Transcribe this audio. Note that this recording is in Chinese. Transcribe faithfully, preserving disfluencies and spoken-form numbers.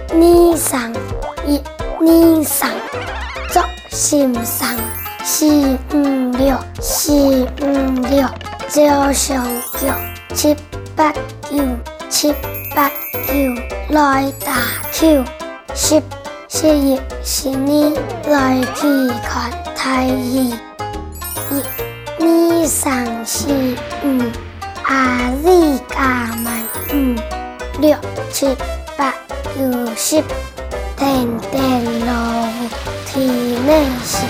呢生一呢生作心生四五六四五六照相腳七八九七八九來打球十十一十二來去看太陽一呢生四五阿里加曼五六七八九十天天落雨天內是